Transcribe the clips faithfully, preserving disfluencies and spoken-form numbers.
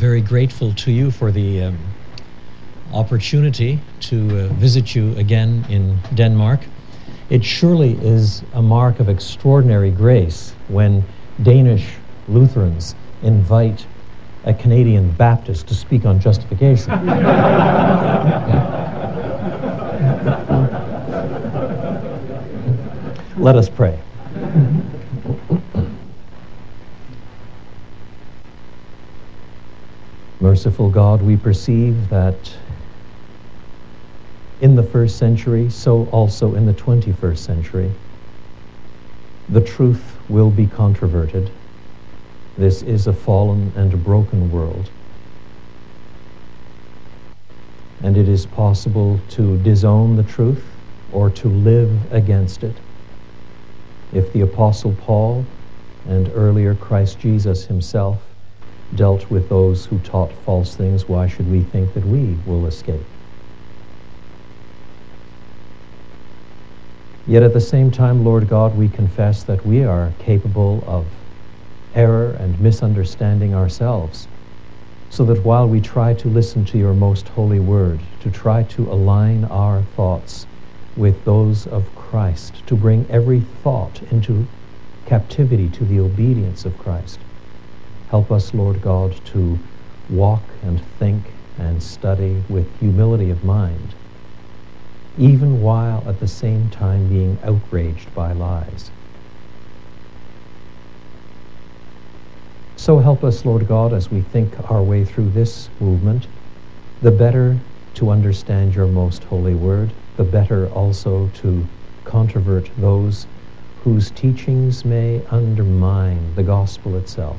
very grateful to you for the um, opportunity to uh, visit you again in Denmark. It surely is a mark of extraordinary grace when Danish Lutherans invite a Canadian Baptist to speak on justification. Let us pray. Merciful God, we perceive that in the first century, so also in the twenty-first century, the truth will be controverted. This is a fallen and a broken world, and it is possible to disown the truth or to live against it. If the Apostle Paul and earlier Christ Jesus himself dealt with those who taught false things, why should we think that we will escape? Yet at the same time, Lord God, we confess that we are capable of error and misunderstanding ourselves, so that while we try to listen to your most holy word, to try to align our thoughts with those of Christ, to bring every thought into captivity to the obedience of Christ, help us, Lord God, to walk and think and study with humility of mind, even while at the same time being outraged by lies. So help us, Lord God, as we think our way through this movement, the better to understand your most holy word, the better also to controvert those whose teachings may undermine the gospel itself.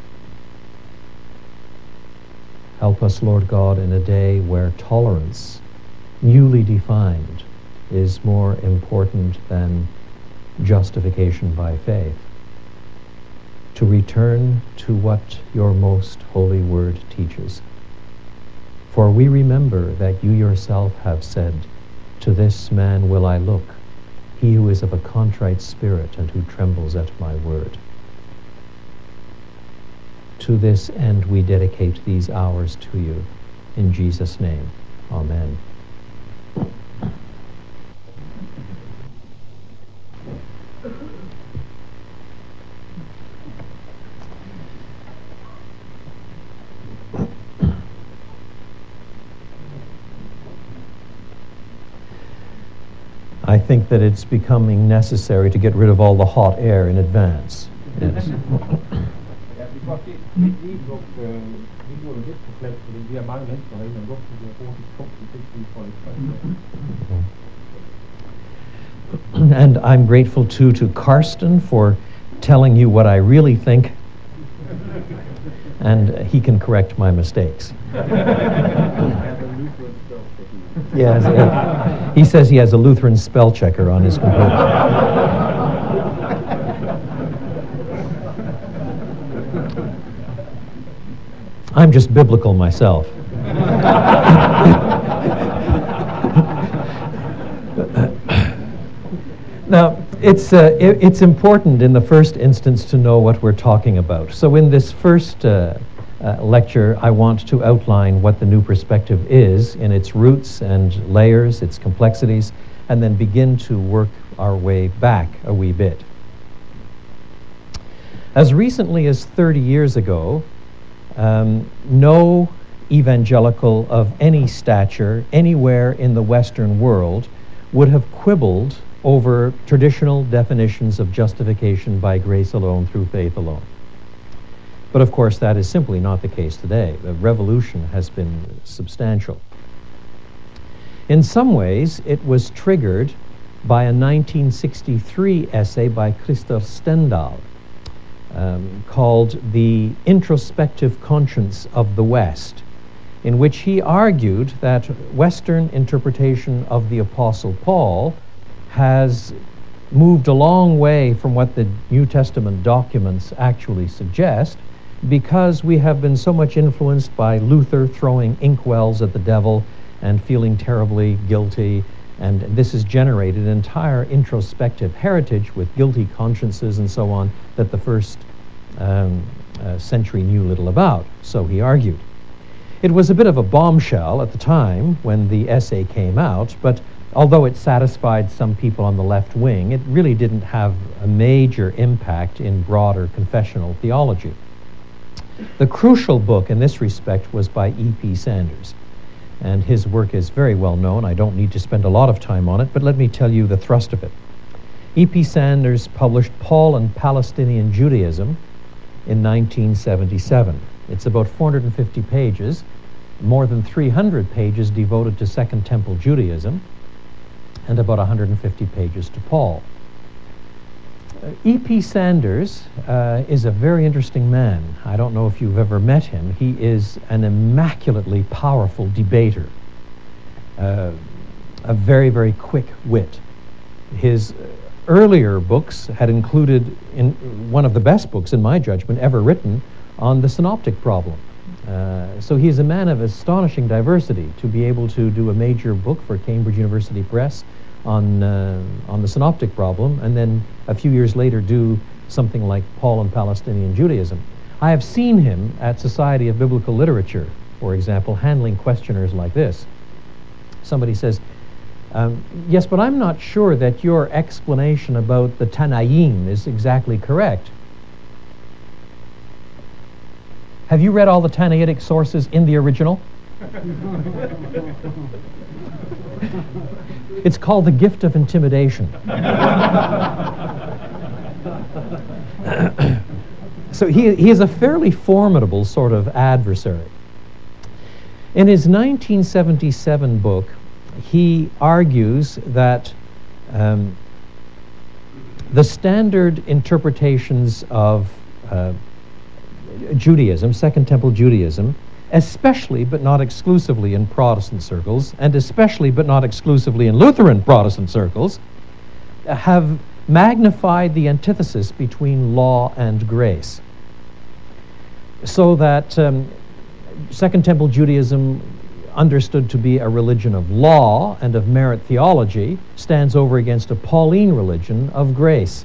Help us, Lord God, in a day where tolerance, newly defined, is more important than justification by faith, to return to what your most holy word teaches. For we remember that you yourself have said, "To this man will I look, he who is of a contrite spirit and who trembles at my word." To this end we dedicate these hours to you. In Jesus' name, amen. I think that it's becoming necessary to get rid of all the hot air in advance. Yes. And I'm grateful too to Karsten for telling you what I really think, and he can correct my mistakes. Yes, yeah. He says he has a Lutheran spell checker on his computer. I'm just biblical myself. Now, it's, uh, it, it's important in the first instance to know what we're talking about. So in this first uh, uh, lecture, I want to outline what the new perspective is in its roots and layers, its complexities, and then begin to work our way back a wee bit. As recently as thirty years ago, Um, no evangelical of any stature anywhere in the Western world would have quibbled over traditional definitions of justification by grace alone through faith alone. But of course that is simply not the case today. The revolution has been substantial. In some ways it was triggered by a nineteen sixty-three essay by Christer Stendahl, Um, called The Introspective Conscience of the West, in which he argued that Western interpretation of the Apostle Paul has moved a long way from what the New Testament documents actually suggest, because we have been so much influenced by Luther throwing inkwells at the devil and feeling terribly guilty, and this has generated an entire introspective heritage with guilty consciences and so on that the first um, uh, century knew little about, so he argued. It was a bit of a bombshell at the time when the essay came out, but although it satisfied some people on the left wing, it really didn't have a major impact in broader confessional theology. The crucial book in this respect was by E P Sanders, and his work is very well known. I don't need to spend a lot of time on it, but let me tell you the thrust of it. E P Sanders published Paul and Palestinian Judaism in nineteen seventy-seven. It's about four hundred fifty pages, more than three hundred pages devoted to Second Temple Judaism, and about one hundred fifty pages to Paul. Uh, E P Sanders uh, is a very interesting man. I don't know if you've ever met him. He is an immaculately powerful debater, uh, a very, very quick wit. His earlier books had included in one of the best books, in my judgment, ever written on the synoptic problem. Uh, so he is a man of astonishing diversity to be able to do a major book for Cambridge University Press on uh, on the synoptic problem, and then a few years later do something like Paul and Palestinian Judaism. I have seen him at Society of Biblical Literature, for example, handling questioners like this. Somebody says, um, yes, but I'm not sure that your explanation about the Tanaim is exactly correct. Have you read all the Tanaitic sources in the original? It's called the gift of intimidation. So he, he is a fairly formidable sort of adversary. In his nineteen seventy-seven book, he argues that um, the standard interpretations of uh, Judaism, Second Temple Judaism, especially but not exclusively in Protestant circles, and especially but not exclusively in Lutheran Protestant circles, have magnified the antithesis between law and grace. So that um, Second Temple Judaism, understood to be a religion of law and of merit theology, stands over against a Pauline religion of grace.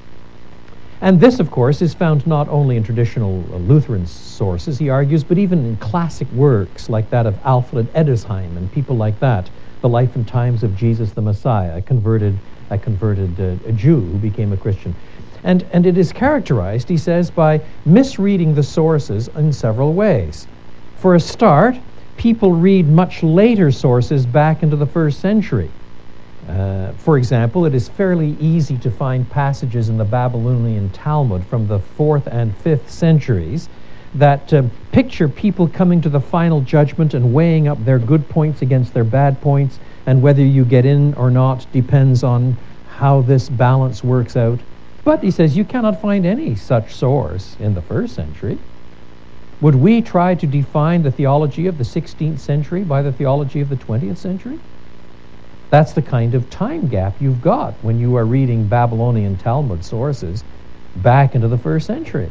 And this, of course, is found not only in traditional uh, Lutheran sources, he argues, but even in classic works like that of Alfred Edesheim and people like that, The Life and Times of Jesus the Messiah, a converted, a converted uh, a Jew who became a Christian. And, and it is characterized, he says, by misreading the sources in several ways. For a start, people read much later sources back into the first century. Uh, for example, it is fairly easy to find passages in the Babylonian Talmud from the fourth and fifth centuries that uh, picture people coming to the final judgment and weighing up their good points against their bad points, and whether you get in or not depends on how this balance works out. But he says you cannot find any such source in the first century. Would we try to define the theology of the sixteenth century by the theology of the twentieth century? That's the kind of time gap you've got when you are reading Babylonian Talmud sources back into the first century.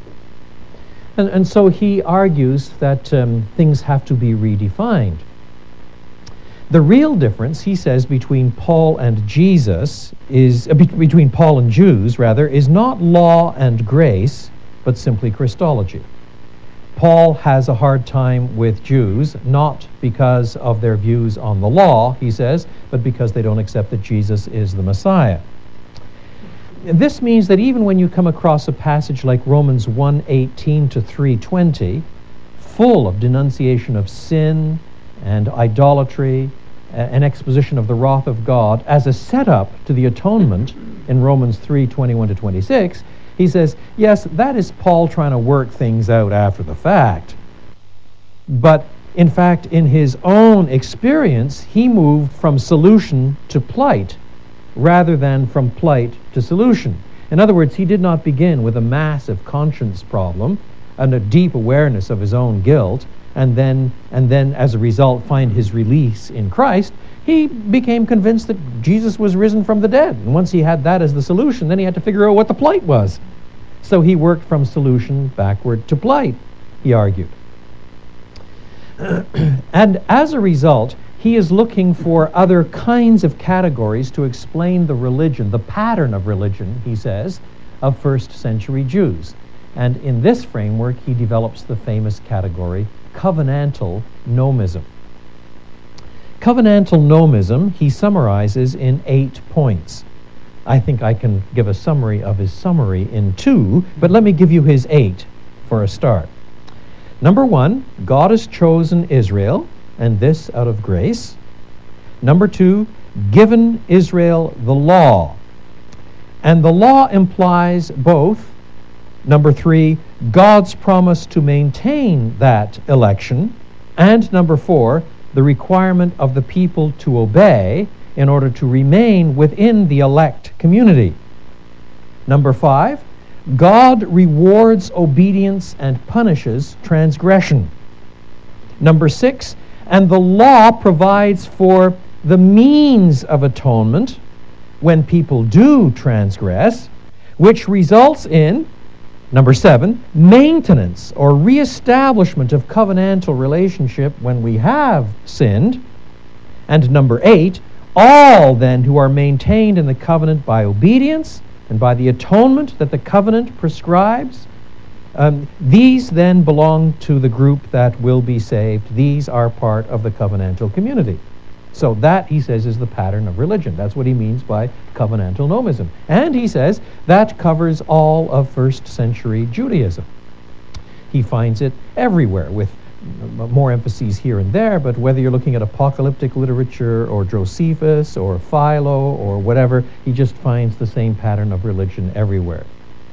And, and so he argues that um, things have to be redefined. The real difference, he says, between Paul and Jesus is, uh, be between Paul and Jews, rather, is not law and grace, but simply Christology. Paul has a hard time with Jews, not because of their views on the law, he says, but because they don't accept that Jesus is the Messiah. This means that even when you come across a passage like Romans one eighteen to three twenty, full of denunciation of sin and idolatry, an exposition of the wrath of God as a setup to the atonement in Romans three twenty-one to twenty-six, he says, yes, that is Paul trying to work things out after the fact. But in fact, in his own experience, he moved from solution to plight rather than from plight to solution. In other words, he did not begin with a massive conscience problem and a deep awareness of his own guilt, and then, and then as a result find his release in Christ. He became convinced that Jesus was risen from the dead. And once he had that as the solution, then he had to figure out what the plight was. So he worked from solution backward to plight, he argued. And as a result, he is looking for other kinds of categories to explain the religion, the pattern of religion, he says, of first century Jews. And in this framework, he develops the famous category covenantal nomism. Covenantal nomism he summarizes in eight points. I think I can give a summary of his summary in two, but let me give you his eight for a start. Number one, God has chosen Israel, and this out of grace. Number two, given Israel the law. And the law implies both, number three, God's promise to maintain that election, and number four, the requirement of the people to obey in order to remain within the elect community. Number five, God rewards obedience and punishes transgression. Number six, and the law provides for the means of atonement when people do transgress, which results in, number seven, maintenance or reestablishment of covenantal relationship when we have sinned. And number eight, all then who are maintained in the covenant by obedience and by the atonement that the covenant prescribes, um, these then belong to the group that will be saved. These are part of the covenantal community. So that, he says, is the pattern of religion. That's what he means by covenantal nomism. And he says that covers all of first century Judaism. He finds it everywhere, with more emphases here and there, but whether you're looking at apocalyptic literature or Josephus or Philo or whatever, he just finds the same pattern of religion everywhere.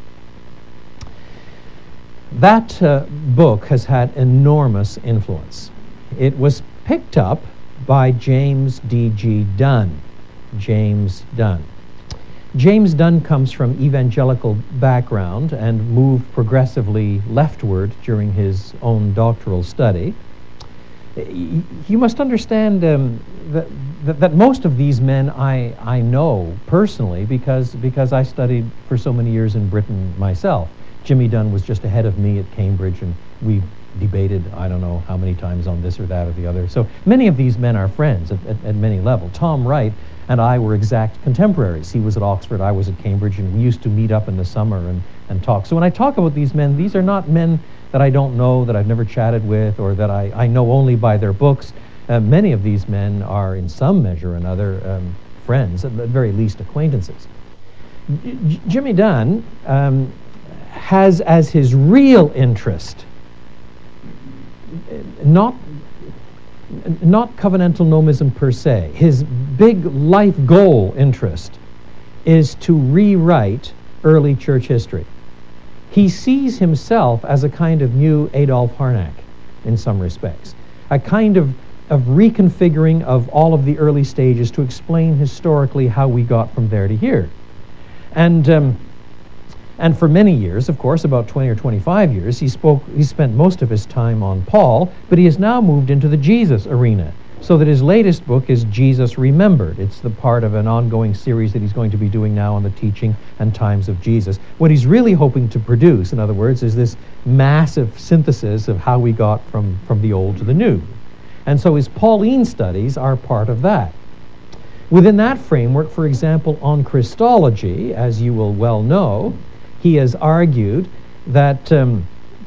That uh, book has had enormous influence. It was picked up by James D G Dunn. James Dunn. James Dunn comes from evangelical background and moved progressively leftward during his own doctoral study. You must understand um, that, that, that most of these men I, I know personally because, because I studied for so many years in Britain myself. Jimmy Dunn was just ahead of me at Cambridge, and we debated, I don't know how many times on this or that or the other. So many of these men are friends at, at, at many levels. Tom Wright and I were exact contemporaries. He was at Oxford, I was at Cambridge, and we used to meet up in the summer and, and talk. So when I talk about these men, these are not men that I don't know, that I've never chatted with, or that I, I know only by their books. Uh, many of these men are, in some measure or another, um, friends, at the very least acquaintances. J- Jimmy Dunn um, has as his real interest not not covenantal nomism per se. His big life goal interest is to rewrite early church history. He sees himself as a kind of new Adolf Harnack in some respects, a kind of, of reconfiguring of all of the early stages to explain historically how we got from there to here. And um, And for many years, of course, about twenty or twenty-five years, he spoke. He spent most of his time on Paul, but he has now moved into the Jesus arena, so that his latest book is Jesus Remembered. It's the part of an ongoing series that he's going to be doing now on the teaching and times of Jesus. What he's really hoping to produce, in other words, is this massive synthesis of how we got from, from the old to the new. And so his Pauline studies are part of that. Within that framework, for example, on Christology, as you will well know, he has argued that um,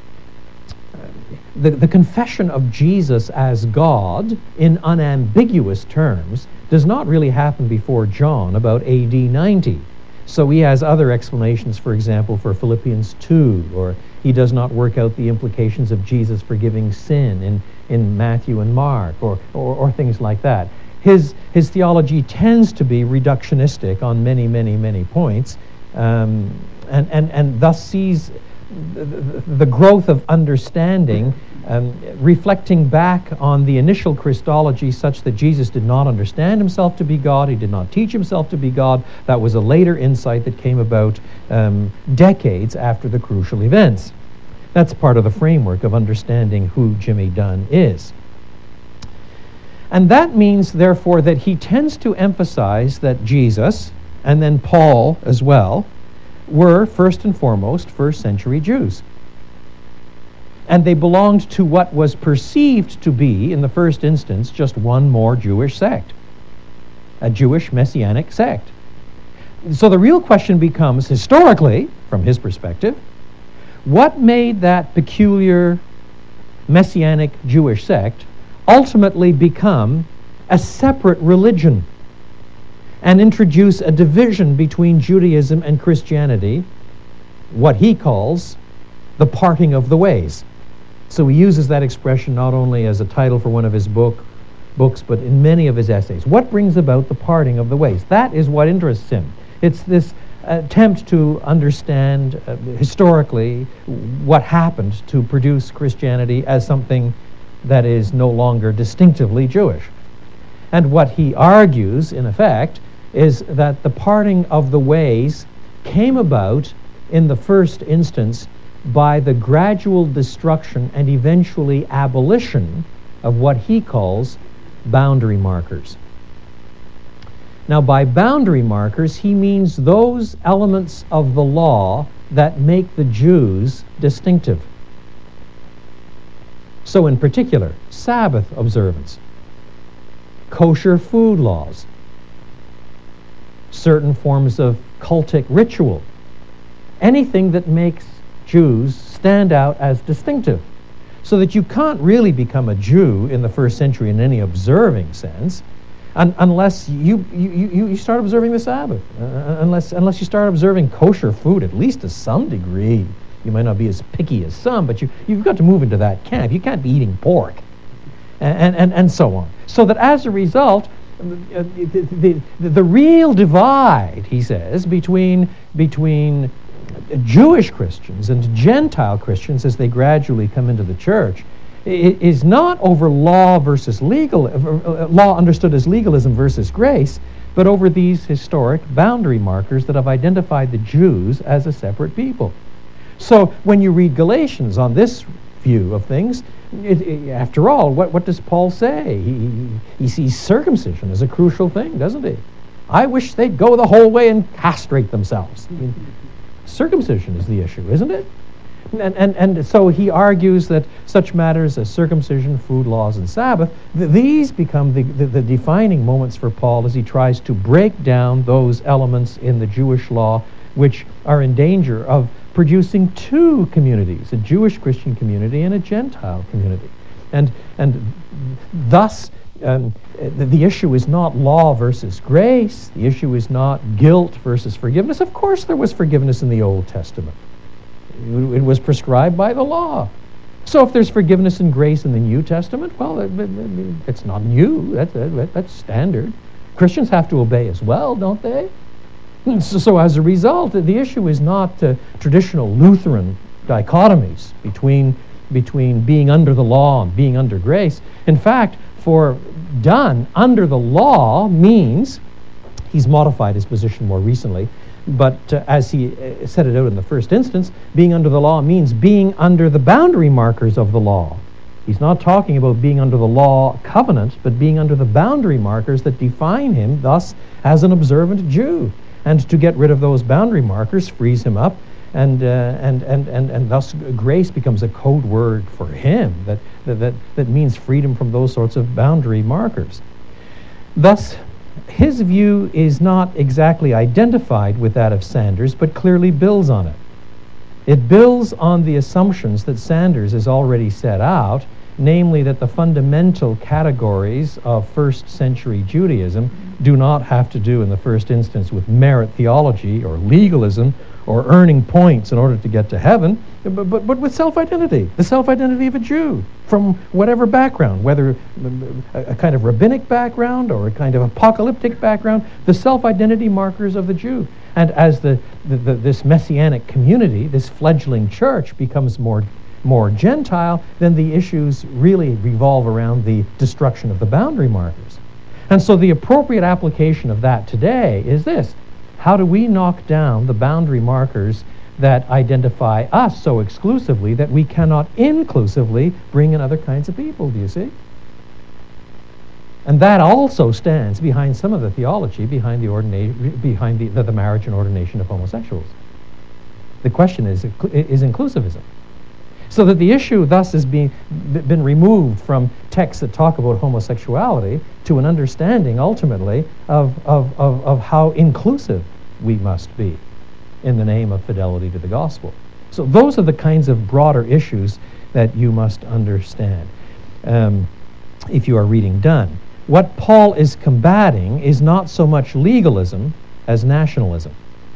the, the confession of Jesus as God in unambiguous terms does not really happen before John, about A D ninety. So he has other explanations, for example, for Philippians two, or he does not work out the implications of Jesus forgiving sin in, in Matthew and Mark, or, or, or things like that. His, his theology tends to be reductionistic on many, many, many points, um, and, and, and thus sees the, the, the growth of understanding um, reflecting back on the initial Christology such that Jesus did not understand himself to be God, he did not teach himself to be God. That was a later insight that came about um, decades after the crucial events. That's part of the framework of understanding who Jimmy Dunn is. And that means, therefore, that he tends to emphasize that Jesus, and then Paul as well, were first and foremost first century Jews. And they belonged to what was perceived to be, in the first instance, just one more Jewish sect, a Jewish messianic sect. So the real question becomes, historically, from his perspective, what made that peculiar Messianic Jewish sect ultimately become a separate religion and introduce a division between Judaism and Christianity, what he calls the parting of the ways. So he uses that expression not only as a title for one of his book, books, but in many of his essays. What brings about the parting of the ways? That is what interests him. It's this attempt to understand uh, historically what happened to produce Christianity as something that is no longer distinctively Jewish. And what he argues, in effect, is that the parting of the ways came about in the first instance by the gradual destruction and eventually abolition of what he calls boundary markers. Now, by boundary markers, he means those elements of the law that make the Jews distinctive. So, in particular, Sabbath observance, kosher food laws, certain forms of cultic ritual, anything that makes Jews stand out as distinctive, so that you can't really become a Jew in the first century in any observing sense un unless you, you, you, you start observing the Sabbath, uh, unless, unless you start observing kosher food, at least to some degree. You might not be as picky as some, but you, you've got to move into that camp. You can't be eating pork, and, and, and so on. So that as a result, uh, the, the, the, the real divide, he says, between, between Jewish Christians and Gentile Christians as they gradually come into the church is not over law versus legal, uh, law understood as legalism versus grace, but over these historic boundary markers that have identified the Jews as a separate people. So when you read Galatians on this view of things, it, it, after all, what, what does Paul say? He, he sees circumcision as a crucial thing, doesn't he? I wish they'd go the whole way and castrate themselves. I mean, circumcision is the issue, isn't it? And, and, and so he argues that such matters as circumcision, food laws, and Sabbath, th these become the, the, the defining moments for Paul as he tries to break down those elements in the Jewish law which are in danger of producing two communities, a Jewish Christian community and a Gentile community. And, and thus, um, the, the issue is not law versus grace. The issue is not guilt versus forgiveness. Of course there was forgiveness in the Old Testament. It was prescribed by the law. So if there's forgiveness and grace in the New Testament, well, it's not new. That's, that's standard. Christians have to obey as well, don't they? So, so as a result, the issue is not uh, traditional Lutheran dichotomies between, between being under the law and being under grace. In fact, for Dunn, under the law means, he's modified his position more recently, but uh, as he uh, set it out in the first instance, being under the law means being under the boundary markers of the law. He's not talking about being under the law covenant, but being under the boundary markers that define him, thus, as an observant Jew. And to get rid of those boundary markers frees him up, and, uh, and, and, and, and thus grace becomes a code word for him that, that, that means freedom from those sorts of boundary markers. Thus, his view is not exactly identified with that of Sanders, but clearly builds on it. It builds on the assumptions that Sanders has already set out, namely that the fundamental categories of first century Judaism do not have to do in the first instance with merit theology or legalism or earning points in order to get to heaven, but, but, but with self-identity, the self-identity of a Jew from whatever background, whether a, a kind of rabbinic background or a kind of apocalyptic background, the self-identity markers of the Jew. And as the, the, the, this messianic community, this fledgling church becomes more more Gentile, then the issues really revolve around the destruction of the boundary markers. And so the appropriate application of that today is this: how do we knock down the boundary markers that identify us so exclusively that we cannot inclusively bring in other kinds of people, do you see? And that also stands behind some of the theology behind the, ordina- behind the, the, the marriage and ordination of homosexuals. The question is, is inclusivism. So that the issue thus has been, been removed from texts that talk about homosexuality to an understanding ultimately of, of, of, of how inclusive we must be in the name of fidelity to the gospel. So those are the kinds of broader issues that you must understand um, if you are reading Donne. What Paul is combating is not so much legalism as nationalism.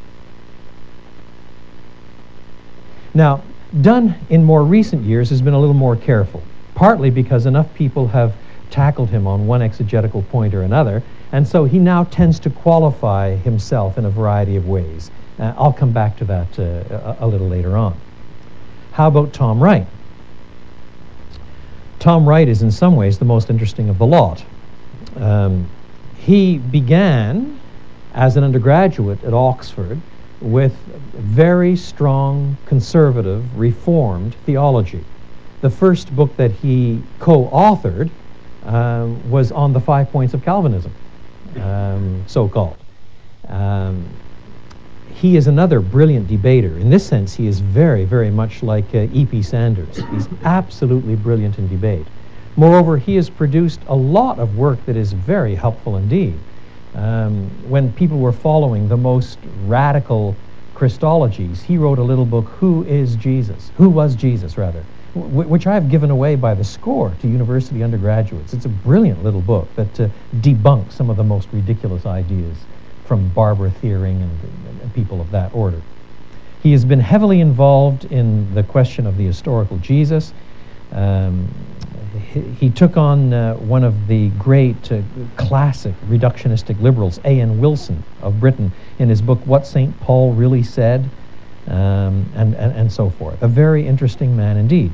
Now, Donne in more recent years has been a little more careful, partly because enough people have tackled him on one exegetical point or another, and so he now tends to qualify himself in a variety of ways. Uh, I'll come back to that uh, a, a little later on. How about Tom Wright? Tom Wright is in some ways the most interesting of the lot. Um, he began as an undergraduate at Oxford with very strong, conservative, reformed theology. The first book that he co-authored um, was on the five points of Calvinism, um, so-called. Um, he is another brilliant debater. In this sense, he is very, very much like uh, E P Sanders. He's absolutely brilliant in debate. Moreover, he has produced a lot of work that is very helpful indeed. Um, when people were following the most radical Christologies, he wrote a little book, Who is Jesus? Who was Jesus, rather, w which I have given away by the score to university undergraduates. It's a brilliant little book that uh, debunks some of the most ridiculous ideas from Barbara Thiering and, and, and people of that order. He has been heavily involved in the question of the historical Jesus. Um, he, he took on uh, one of the great uh, classic reductionistic liberals, A N Wilson of Britain, in his book What Saint Paul Really Said, um, and, and, and so forth. A very interesting man indeed.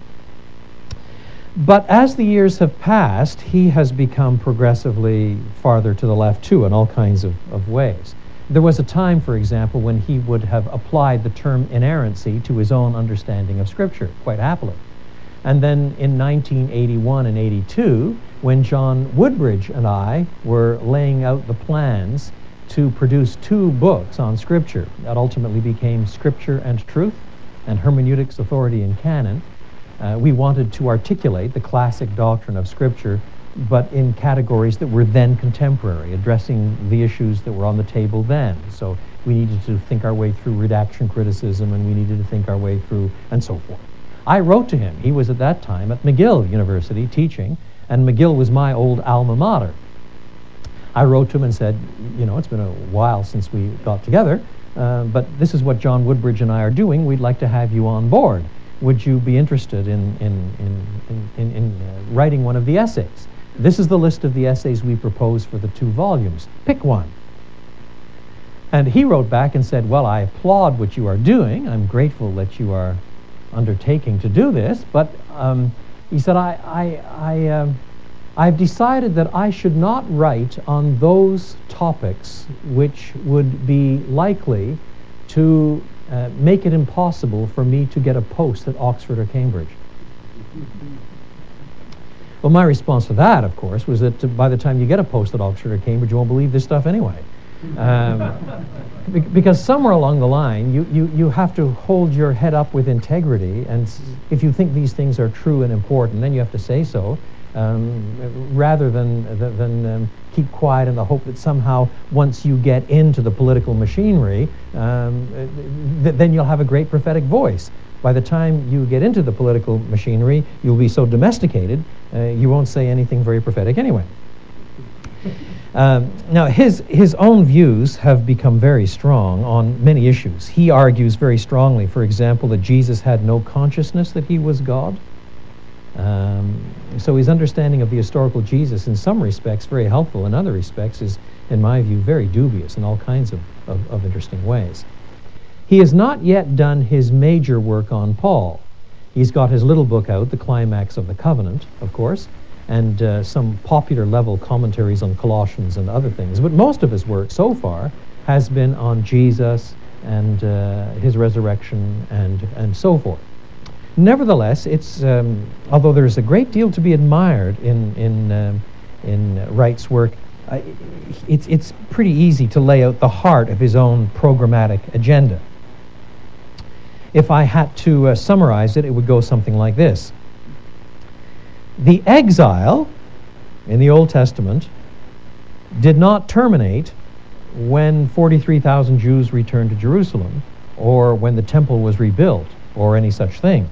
But as the years have passed, he has become progressively farther to the left too in all kinds of, of ways. There was a time, for example, when he would have applied the term inerrancy to his own understanding of Scripture, quite happily. And then in nineteen eighty-one and eighty-two, when John Woodbridge and I were laying out the plans to produce two books on Scripture that ultimately became Scripture and Truth and Hermeneutics, Authority, and Canon, uh, we wanted to articulate the classic doctrine of Scripture, but in categories that were then contemporary, addressing the issues that were on the table then. So we needed to think our way through redaction criticism, and we needed to think our way through, and so forth. I wrote to him. He was at that time at McGill University teaching, and McGill was my old alma mater. I wrote to him and said, you know, it's been a while since we got together, uh, but this is what John Woodbridge and I are doing. We'd like to have you on board. Would you be interested in, in, in, in, in, in uh, writing one of the essays? This is the list of the essays we propose for the two volumes. Pick one. And he wrote back and said, well, I applaud what you are doing. I'm grateful that you are undertaking to do this, but um, he said, I, I, I, um, I've decided that I should not write on those topics which would be likely to uh, make it impossible for me to get a post at Oxford or Cambridge. Well, my response to that, of course, was that by the time you get a post at Oxford or Cambridge, you won't believe this stuff anyway. Um, be because somewhere along the line, you, you, you have to hold your head up with integrity, and s if you think these things are true and important, then you have to say so, um, rather than, th than um, keep quiet in the hope that somehow once you get into the political machinery, um, th then you'll have a great prophetic voice. By the time you get into the political machinery, you'll be so domesticated, uh, you won't say anything very prophetic anyway. Um, now, his, his own views have become very strong on many issues. He argues very strongly, for example, that Jesus had no consciousness that he was God. Um, so his understanding of the historical Jesus, in some respects, very helpful. In other respects, is, in my view, very dubious in all kinds of, of, of interesting ways. He has not yet done his major work on Paul. He's got his little book out, The Climax of the Covenant, of course, and uh, some popular level commentaries on Colossians and other things. But most of his work so far has been on Jesus and uh, his resurrection and, and so forth. Nevertheless, it's, um, although there's a great deal to be admired in, in, um, in Wright's work, uh, it's, it's pretty easy to lay out the heart of his own programmatic agenda. If I had to uh, summarize it, it would go something like this. The exile in the Old Testament did not terminate when forty-three thousand Jews returned to Jerusalem or when the temple was rebuilt. or any such thing.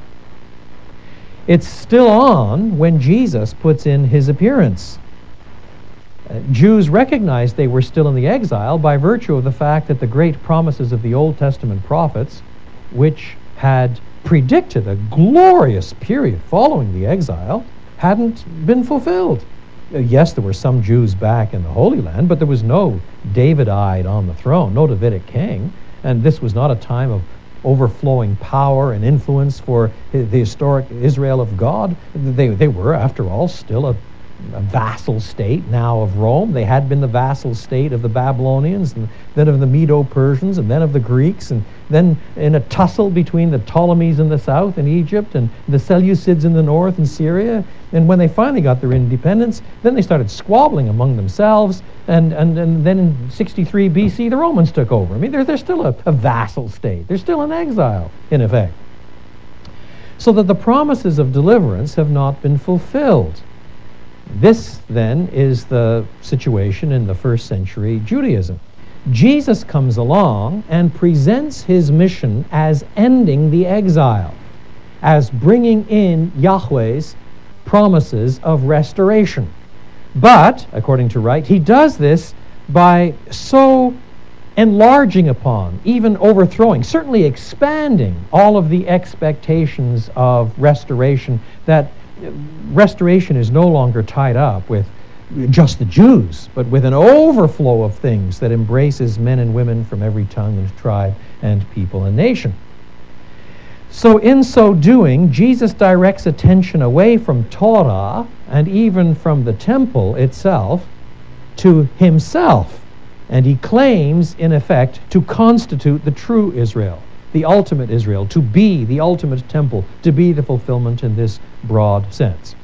It's still on when Jesus puts in his appearance. Uh, Jews recognized they were still in the exile by virtue of the fact that the great promises of the Old Testament prophets, which had predicted a glorious period following the exile, hadn't been fulfilled. Uh, yes, there were some Jews back in the Holy Land, but there was no Davidite on the throne, no Davidic king, and this was not a time of overflowing power and influence for the historic Israel of God. They, they were, after all, still a, a vassal state now of Rome. They had been the vassal state of the Babylonians, and then of the Medo-Persians, and then of the Greeks, and then in a tussle between the Ptolemies in the south in Egypt and the Seleucids in the north in Syria. And when they finally got their independence, then they started squabbling among themselves, and, and, and then in sixty-three B C the Romans took over. I mean, they're, they're still a, a vassal state. They're still in exile, in effect. So that the promises of deliverance have not been fulfilled. This, then, is the situation in the first century Judaism. Jesus comes along and presents his mission as ending the exile, as bringing in Yahweh's promises of restoration. But, according to Wright, he does this by so enlarging upon, even overthrowing, certainly expanding all of the expectations of restoration, that restoration is no longer tied up with just the Jews, but with an overflow of things that embraces men and women from every tongue and tribe and people and nation. So in so doing, Jesus directs attention away from Torah and even from the temple itself to himself. And he claims, in effect, to constitute the true Israel, the ultimate Israel, to be the ultimate temple, to be the fulfillment in this broad sense.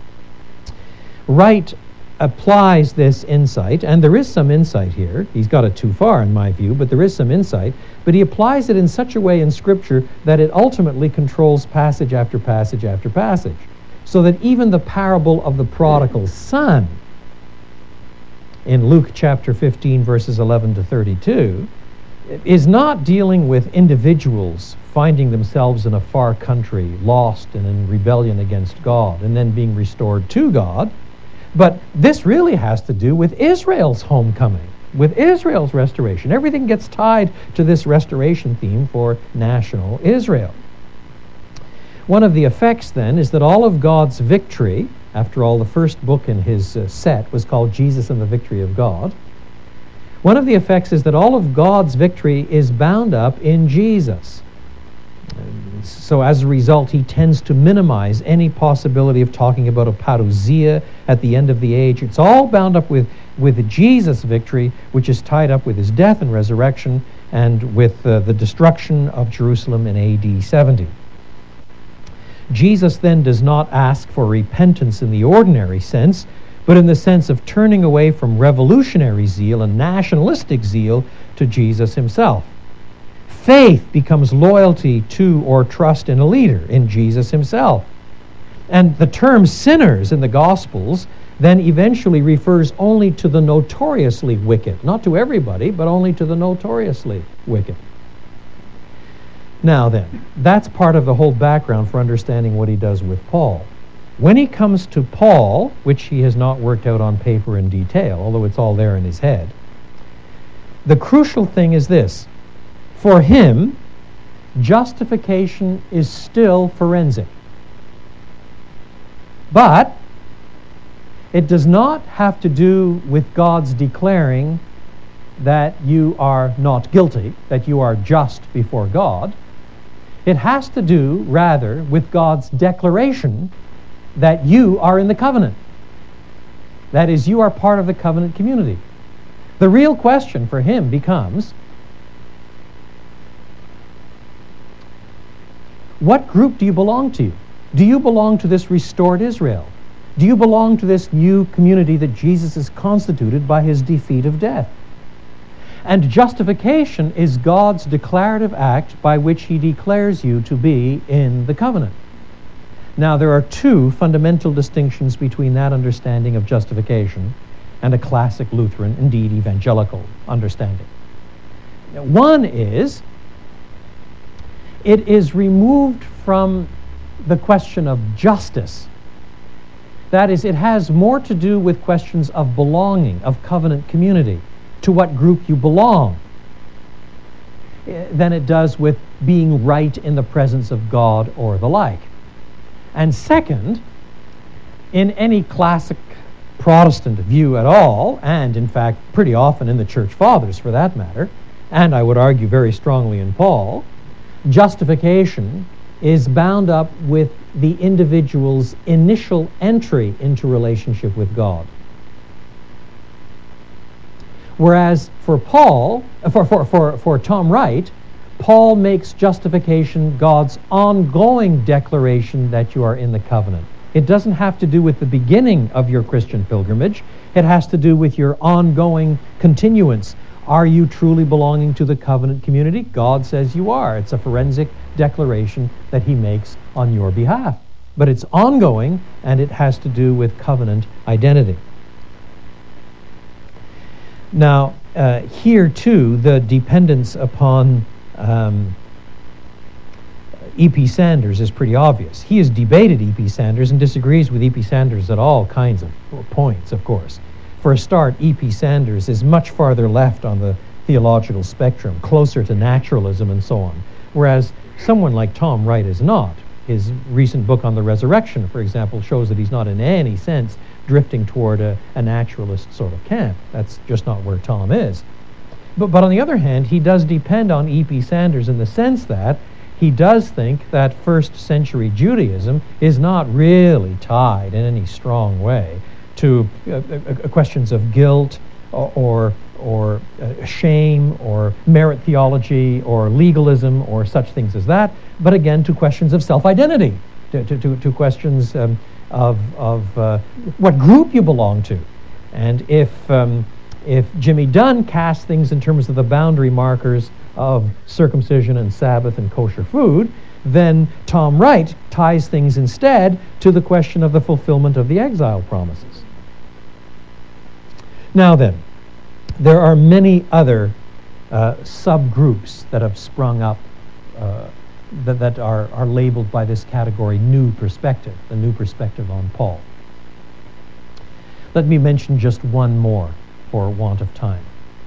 Wright applies this insight, and there is some insight here. He's got it too far in my view, but there is some insight. But he applies it in such a way in Scripture that it ultimately controls passage after passage after passage. So that even the parable of the prodigal son in Luke chapter fifteen, verses eleven to thirty-two, is not dealing with individuals finding themselves in a far country, lost and in rebellion against God, and then being restored to God. But this really has to do with Israel's homecoming, with Israel's restoration. Everything gets tied to this restoration theme for national Israel. One of the effects, then, is that all of God's victory, after all, the first book in his uh, set was called Jesus and the Victory of God. One of the effects is that all of God's victory is bound up in Jesus. So as a result, he tends to minimize any possibility of talking about a parousia at the end of the age. It's all bound up with, with Jesus' victory, which is tied up with his death and resurrection and with uh, the destruction of Jerusalem in A D seventy. Jesus then does not ask for repentance in the ordinary sense, but in the sense of turning away from revolutionary zeal and nationalistic zeal to Jesus himself. Faith becomes loyalty to or trust in a leader, in Jesus himself. And the term sinners in the Gospels then eventually refers only to the notoriously wicked. Not to everybody, but only to the notoriously wicked. Now then, that's part of the whole background for understanding what he does with Paul. When he comes to Paul, which he has not worked out on paper in detail, although it's all there in his head, the crucial thing is this. For him, justification is still forensic. But it does not have to do with God's declaring that you are not guilty, that you are just before God. It has to do, rather, with God's declaration that you are in the covenant. That is, you are part of the covenant community. The real question for him becomes, what group do you belong to? Do you belong to this restored Israel? Do you belong to this new community that Jesus has constituted by his defeat of death? And justification is God's declarative act by which he declares you to be in the covenant. Now, there are two fundamental distinctions between that understanding of justification and a classic Lutheran, indeed evangelical, understanding. One is It is removed from the question of justice. That is, it has more to do with questions of belonging, of covenant community, to what group you belong, than it does with being right in the presence of God or the like. And second, in any classic Protestant view at all, and in fact pretty often in the Church Fathers for that matter, and I would argue very strongly in Paul, justification is bound up with the individual's initial entry into relationship with God. Whereas for Paul, for, for, for, for Tom Wright, Paul makes justification God's ongoing declaration that you are in the covenant. It doesn't have to do with the beginning of your Christian pilgrimage. It has to do with your ongoing continuance. Are you truly belonging to the covenant community? God says you are. It's a forensic declaration that he makes on your behalf. But it's ongoing, and it has to do with covenant identity. Now, uh, here too, the dependence upon um, E P Sanders is pretty obvious. He has debated E P Sanders and disagrees with E P Sanders at all kinds of points, of course. For a start, E P Sanders is much farther left on the theological spectrum, closer to naturalism and so on, whereas someone like Tom Wright is not. His recent book on the resurrection, for example, shows that he's not in any sense drifting toward a, a naturalist sort of camp. That's just not where Tom is. But, but on the other hand, he does depend on E P Sanders in the sense that he does think that first century Judaism is not really tied in any strong way to uh, uh, questions of guilt or, or, or uh, shame or merit theology or legalism or such things as that, but again to questions of self-identity, to, to, to, to questions um, of, of uh, what group you belong to. And if, um, if Jimmy Dunn casts things in terms of the boundary markers of circumcision and Sabbath and kosher food, then Tom Wright ties things instead to the question of the fulfillment of the exile promises. Now then, there are many other uh, subgroups that have sprung up uh, that, that are, are labeled by this category new perspective, the new perspective on Paul. Let me mention just one more for want of time.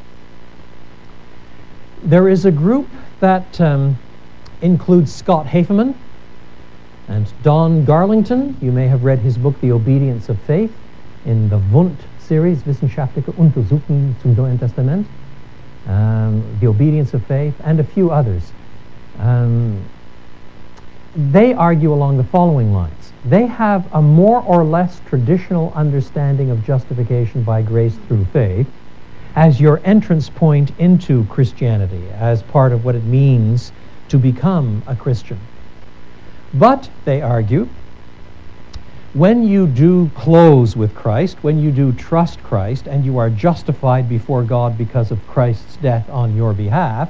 There is a group that um, includes Scott Haefemann and Don Garlington. You may have read his book, The Obedience of Faith, in the Wundt series, Wissenschaftliche Untersuchungen zum Neuen Testament, um, The Obedience of Faith, and a few others. Um, they argue along the following lines. They have a more or less traditional understanding of justification by grace through faith as your entrance point into Christianity, as part of what it means to become a Christian. But, they argue, when you do close with Christ, when you do trust Christ, and you are justified before God because of Christ's death on your behalf,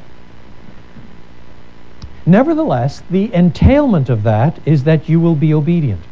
nevertheless, the entailment of that is that you will be obedient.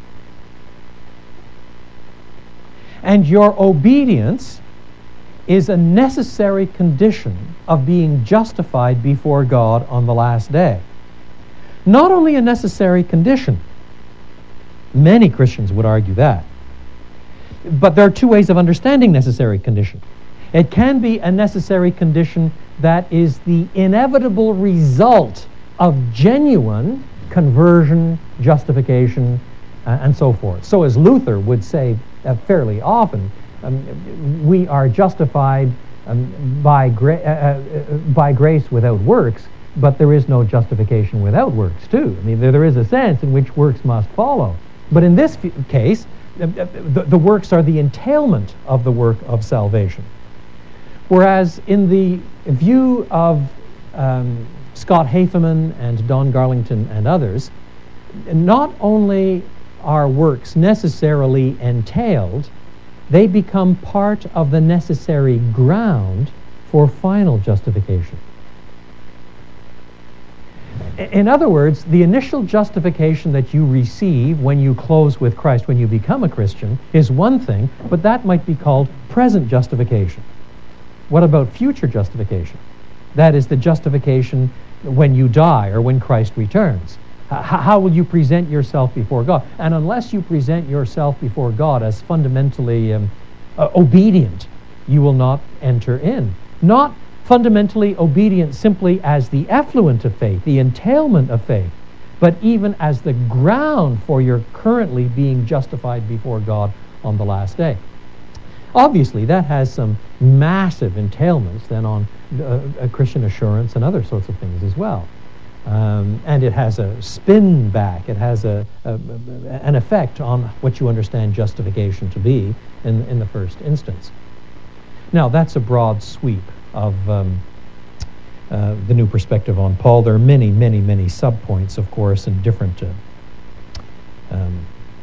And your obedience is a necessary condition of being justified before God on the last day. Not only a necessary condition, many Christians would argue that, but there are two ways of understanding necessary condition. It can be a necessary condition that is the inevitable result of genuine conversion, justification, uh, and so forth. So as Luther would say uh, fairly often, Um, we are justified um, by, gra- uh, uh, by grace without works, but there is no justification without works too. I mean, there, there is a sense in which works must follow. But in this f- case, uh, the, the works are the entailment of the work of salvation. Whereas in the view of um, Scott Haefemann and Don Garlington and others, not only are works necessarily entailed, they become part of the necessary ground for final justification. In other words, the initial justification that you receive when you close with Christ, when you become a Christian, is one thing, but that might be called present justification. What about future justification? That is the justification when you die or when Christ returns. H- how will you present yourself before God? And unless you present yourself before God as fundamentally um, uh, obedient, you will not enter in. Not fundamentally obedient simply as the effluent of faith, the entailment of faith, but even as the ground for your currently being justified before God on the last day. Obviously, that has some massive entailments then on uh, a Christian assurance and other sorts of things as well. Um, and it has a spin back, it has a, a, an effect on what you understand justification to be in, in the first instance. Now, that's a broad sweep of um, uh, the new perspective on Paul. There are many, many, many subpoints, of course, and different uh, um,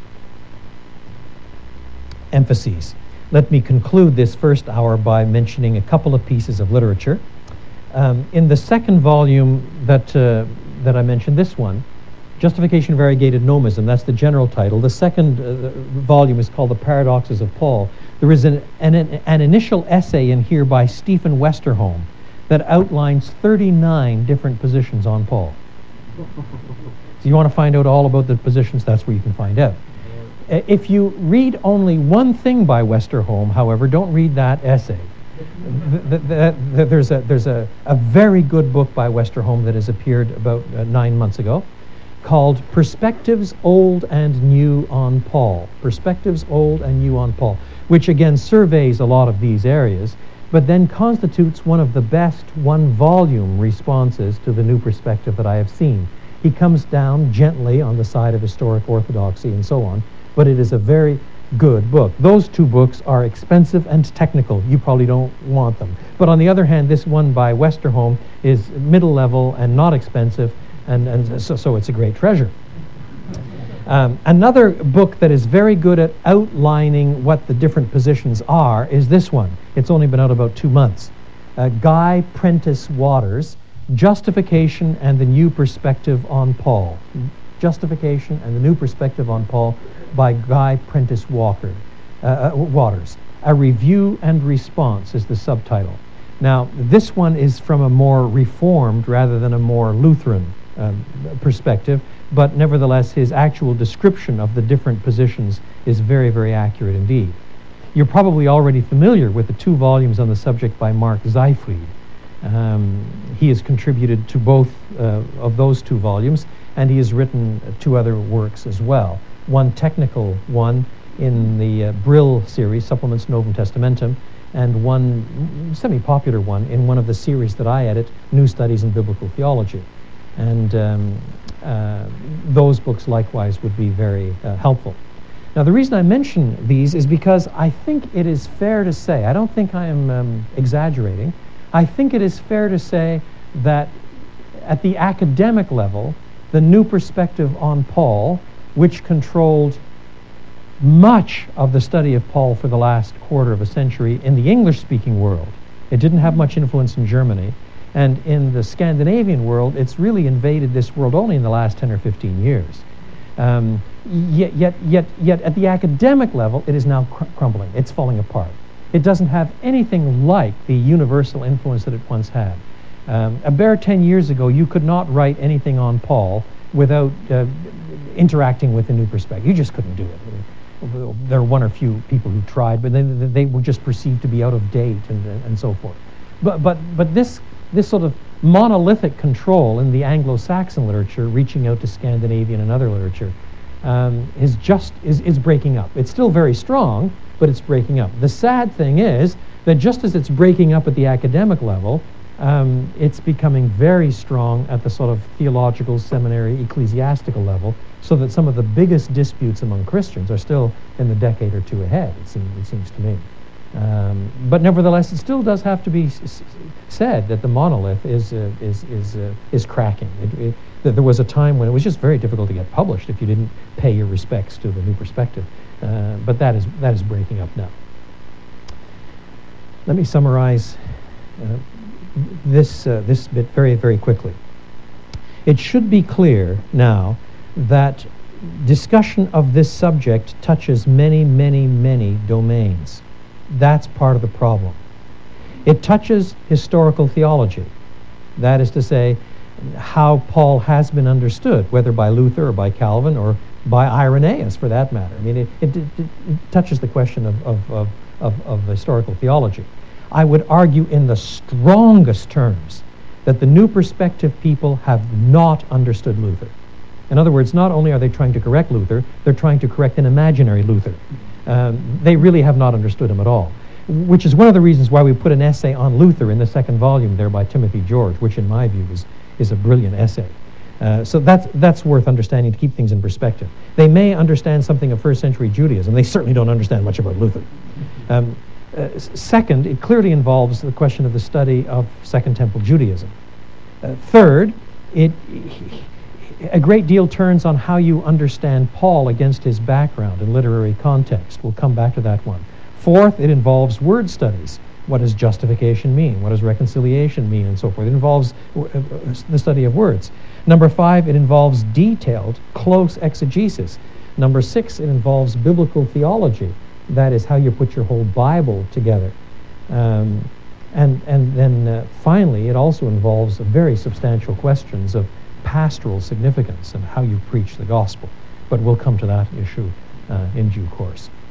emphases. Let me conclude this first hour by mentioning a couple of pieces of literature. Um, in the second volume that uh, that I mentioned, this one, Justification of Variegated Nomism, that's the general title. The second uh, volume is called The Paradoxes of Paul. There is an, an, an initial essay in here by Stephen Westerholm that outlines thirty-nine different positions on Paul. So you want to find out all about the positions, that's where you can find out. If you read only one thing by Westerholm, however, don't read that essay. The, the, the, there's a, there's a, a very good book by Westerholm that has appeared about uh, nine months ago called Perspectives Old and New on Paul. Perspectives Old and New on Paul, which again surveys a lot of these areas, but then constitutes one of the best one-volume responses to the new perspective that I have seen. He comes down gently on the side of historic orthodoxy and so on, but it is a very good book. Those two books are expensive and technical. You probably don't want them. But on the other hand, this one by Westerholm is middle level and not expensive, and, and so, so it's a great treasure. Um, another book that is very good at outlining what the different positions are is this one. It's only been out about two months. Uh, Guy Prentice Waters, Justification and the New Perspective on Paul. Justification and the New Perspective on Paul by Guy Prentice Walker, uh, uh, Waters. A Review and Response is the subtitle. Now, this one is from a more Reformed rather than a more Lutheran um, perspective, but nevertheless his actual description of the different positions is very, very accurate indeed. You're probably already familiar with the two volumes on the subject by Mark Seifried. Um, he has contributed to both uh, of those two volumes, and he has written uh, two other works as well. One technical one in the uh, Brill series, Supplements Novum Testamentum, and one semi-popular one in one of the series that I edit, New Studies in Biblical Theology. And um, uh, those books likewise would be very uh, helpful. Now, the reason I mention these is because I think it is fair to say, I don't think I am um, exaggerating, I think it is fair to say that at the academic level, the new perspective on Paul, which controlled much of the study of Paul for the last quarter of a century in the English-speaking world. It didn't have much influence in Germany. And in the Scandinavian world, it's really invaded this world only in the last ten or fifteen years. Um, yet, yet, yet, yet at the academic level, it is now cr- crumbling. It's falling apart. It doesn't have anything like the universal influence that it once had. Um, a bare ten years ago, you could not write anything on Paul without uh, interacting with a new perspective. You just couldn't do it. There were one or few people who tried, but they, they were just perceived to be out of date and, and so forth. But, but, but this, this sort of monolithic control in the Anglo-Saxon literature, reaching out to Scandinavian and other literature, um, is just is, is breaking up. It's still very strong, but it's breaking up. The sad thing is that just as it's breaking up at the academic level, um, it's becoming very strong at the sort of theological, seminary, ecclesiastical level, so that some of the biggest disputes among Christians are still in the decade or two ahead, it seems, it seems to me. Um, but nevertheless, it still does have to be s- s- said that the monolith is uh, is is uh, is cracking. It, it, that there was a time when it was just very difficult to get published if you didn't pay your respects to the new perspective. Uh, but that is that is breaking up now. Let me summarize uh, this uh, this bit very very quickly. It should be clear now that discussion of this subject touches many many many domains. That's part of the problem. It touches historical theology. That is to say, how Paul has been understood, whether by Luther or by Calvin or by Irenaeus, for that matter. I mean, it, it, it, it touches the question of, of, of, of, of historical theology. I would argue in the strongest terms that the New Perspective people have not understood Luther. In other words, not only are they trying to correct Luther, they're trying to correct an imaginary Luther. Um, they really have not understood him at all, which is one of the reasons why we put an essay on Luther in the second volume there by Timothy George, which in my view is, is a brilliant essay. Uh, so that's, that's worth understanding to keep things in perspective. They may understand something of first century Judaism. They certainly don't understand much about Luther. Um, uh, second, it clearly involves the question of the study of Second Temple Judaism. Uh, third, it, a great deal turns on how you understand Paul against his background and literary context. We'll come back to that one. Fourth, it involves word studies. What does justification mean? What does reconciliation mean? And so forth. It involves the study of words. Number five, it involves detailed, close exegesis. Number six, it involves biblical theology. That is how you put your whole Bible together. Um, and, and then uh, finally, it also involves very substantial questions of pastoral significance and how you preach the gospel. But we'll come to that issue uh, in due course.